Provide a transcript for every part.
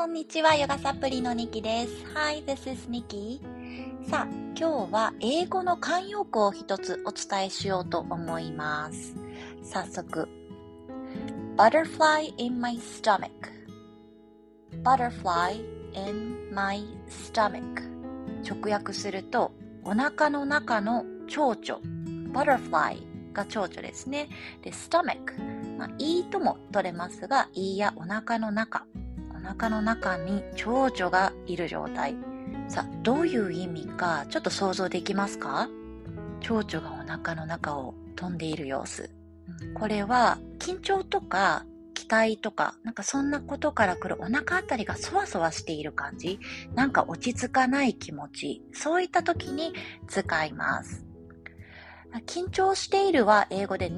んにちは、ヨガサプリのニキです。Hi, this is Nikki. さあ、今日は英語の慣用句を一つお伝えしようと思います。早速、Butterfly in my stomach. Butterfly in my stomach. 直訳すると、お腹の中の蝶々。Butterfly が蝶々ですね。で、stomach。いいとも取れますが、いいやお腹の中。お腹の中に蝶々がいる状態。さあ、どういう意味かちょっと想像できますか？蝶々がお腹の中を飛んでいる様子。これは緊張とか期待とか、なんかそんなことから来るお腹あたりがそわそわしている感じ。なんか落ち着かない気持ち。そういった時に使います。緊張しているは英語で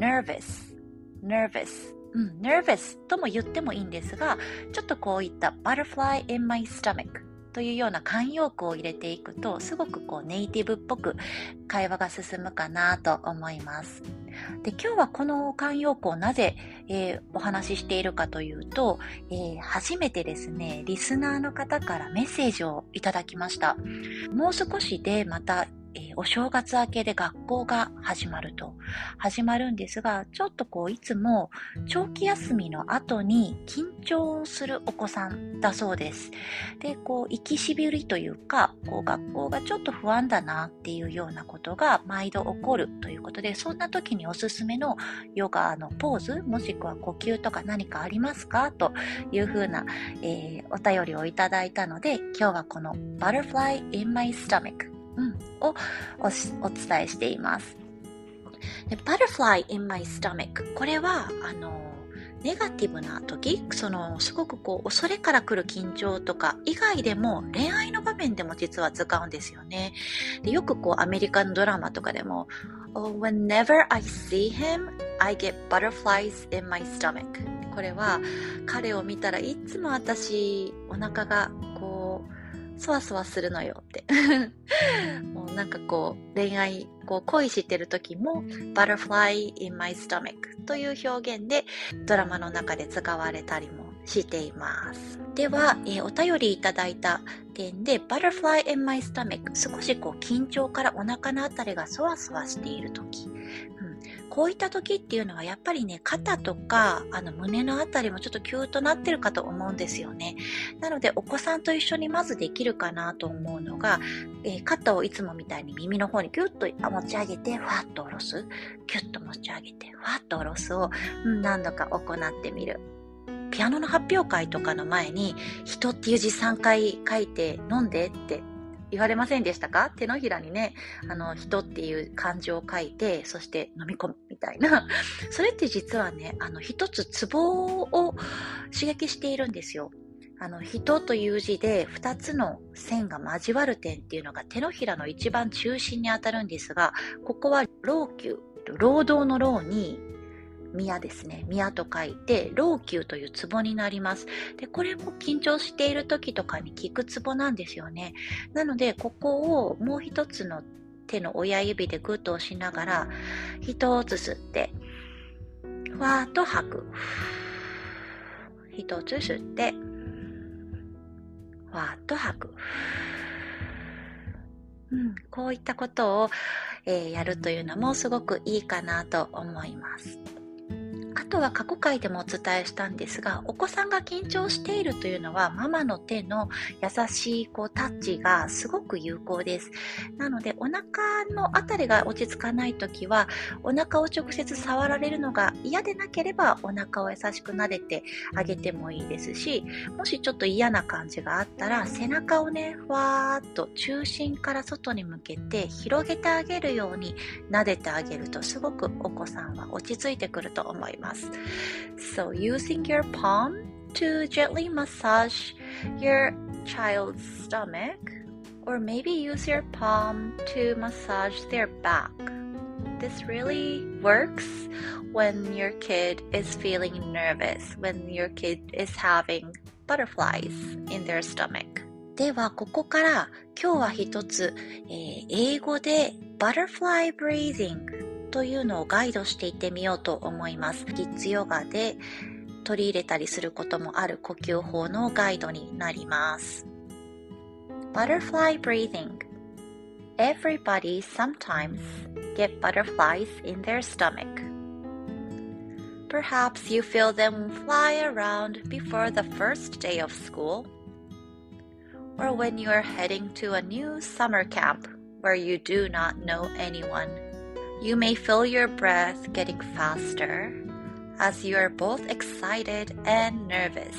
nervous。nervous とも言ってもいいんですが、ちょっとこういった butterfly in my stomach というような慣用句を入れていくと、すごくこうネイティブっぽく会話が進むかなと思います。で、今日はこの慣用句をなぜ、お話ししているかというと、初めてですね、リスナーの方からメッセージをいただきました。もう少しでまたお正月明けで学校が始まるんですが、ちょっとこういつも長期休みの後に緊張するお子さんだそうです。で、こう行きしびりというか、こう学校がちょっと不安だなっていうようなことが毎度起こるということで、そんな時におすすめのヨガのポーズ、もしくは呼吸とか何かありますかというふうな、お便りをいただいたので、今日はこの Butterfly in my stomachをお伝えしています。で Butterfly in my stomach。これは、ネガティブな時、すごくこう、恐れから来る緊張とか、以外でも、恋愛の場面でも実は使うんですよね。でよくこう、アメリカのドラマとかでも、Whenever I see him, I get butterflies in my stomach。これは、彼を見たらいつも私、お腹がこう、そわそわするのよってもうなんかこう恋愛恋してる時も Butterfly in my stomach という表現でドラマの中で使われたりもしています。では、お便りいただいた点で Butterfly in my stomach、 少しこう緊張からお腹のあたりがそわそわしている時、こういった時っていうのはやっぱりね、肩とか胸のあたりもちょっとキューッとなってるかと思うんですよね。なのでお子さんと一緒にまずできるかなと思うのが、肩をいつもみたいに耳の方にキュッと持ち上げてフワッと下ろす、キュッと持ち上げてフワッと下ろすを、何度か行ってみる。ピアノの発表会とかの前に人っていう字3回書いて飲んでって言われませんでしたか？手のひらにね、人っていう漢字を書いて、そして飲み込むみたいな。それって実はね、一つツボを刺激しているんですよ。人という字で2つの線が交わる点っていうのが手のひらの一番中心に当たるんですが、ここは労宮、労働の労に宮ですね。宮と書いて、労宮というツボになります。で、これも緊張している時とかに効くツボなんですよね。なので、ここをもう一つの手の親指でグッと押しながら、一つ吸って、ふわーっと吐く。一つ吸って、ふわーっと吐く。こういったことを、やるというのもすごくいいかなと思います。あとは過去回でもお伝えしたんですが、お子さんが緊張しているというのはママの手の優しいタッチがすごく有効です。なのでお腹のあたりが落ち着かないときは、お腹を直接触られるのが嫌でなければお腹を優しく撫でてあげてもいいですし、もしちょっと嫌な感じがあったら背中をね、ふわーっと中心から外に向けて広げてあげるように撫でてあげると、すごくお子さんは落ち着いてくると思います。So using your palm to gently massage your child's stomach, or maybe use your palm to massage their back. This really works when your kid is feeling nervous, when your kid is having butterflies in their stomach. ではここから今日は一つ、英語で butterfly breathingというのをガイドしていってみようと思います。キッズヨガで取り入れたりすることもある呼吸法のガイドになります。Butterfly breathing. Everybody sometimes get butterflies in their stomach. Perhaps you feel them fly around before the first day of school, or when you are heading to a new summer camp where you do not know anyone. You may feel your breath getting faster as you are both excited and nervous.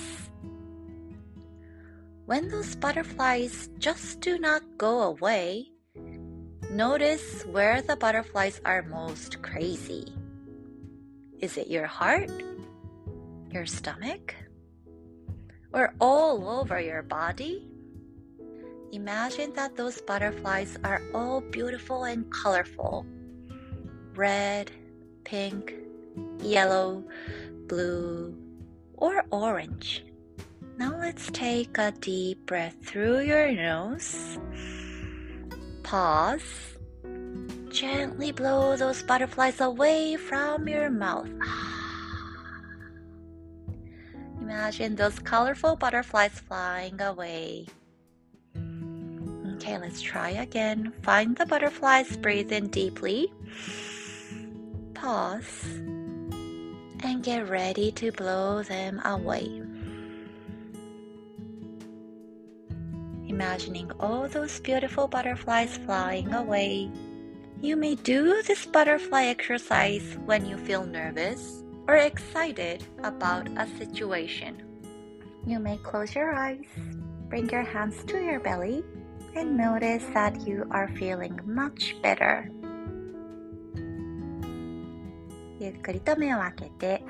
When those butterflies just do not go away, notice where the butterflies are most crazy. Is it your heart, your stomach, or all over your body? Imagine that those butterflies are all beautiful and colorful. Red, pink, yellow, blue, or orange. Now let's take a deep breath through your nose. Pause. Gently blow those butterflies away from your mouth. Imagine those colorful butterflies flying away. Okay, let's try again. Find the butterflies, breathe in deeply. Pause. And get ready to blow them away. Imagining all those beautiful butterflies flying away. You may do this butterfly exercise when you feel nervous or excited about a situation. You may close your eyes, bring your hands to your belly, and notice that you are feeling much better. ゆっくりと目を開けて、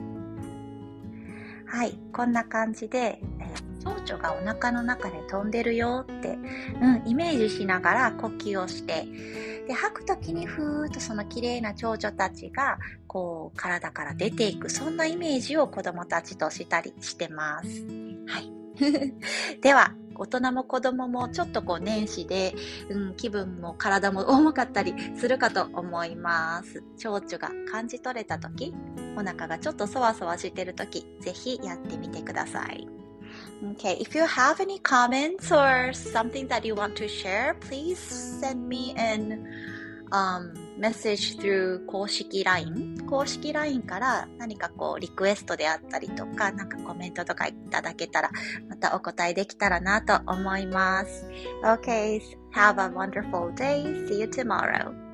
はい、こんな感じで、蝶々がお腹の中で飛んでるよって、イメージしながら呼吸をして、で吐くときにふーっとその綺麗な蝶々たちがこう体から出ていく、そんなイメージを子どもたちとしたりしてます。はい。では大人も子供もちょっとこう年始で、気分も体も重かったりするかと思います。蝶々が感じ取れたとき、お腹がちょっとそわそわしてるとき、ぜひやってみてください。Okay, if you have any comments or something that you want to share, please send me an message through 公式 LINE。公式 LINE から何かこうリクエストであったりとか、なんかコメントとかいただけたら、またお答えできたらなと思います。Okay, have a wonderful day. See you tomorrow.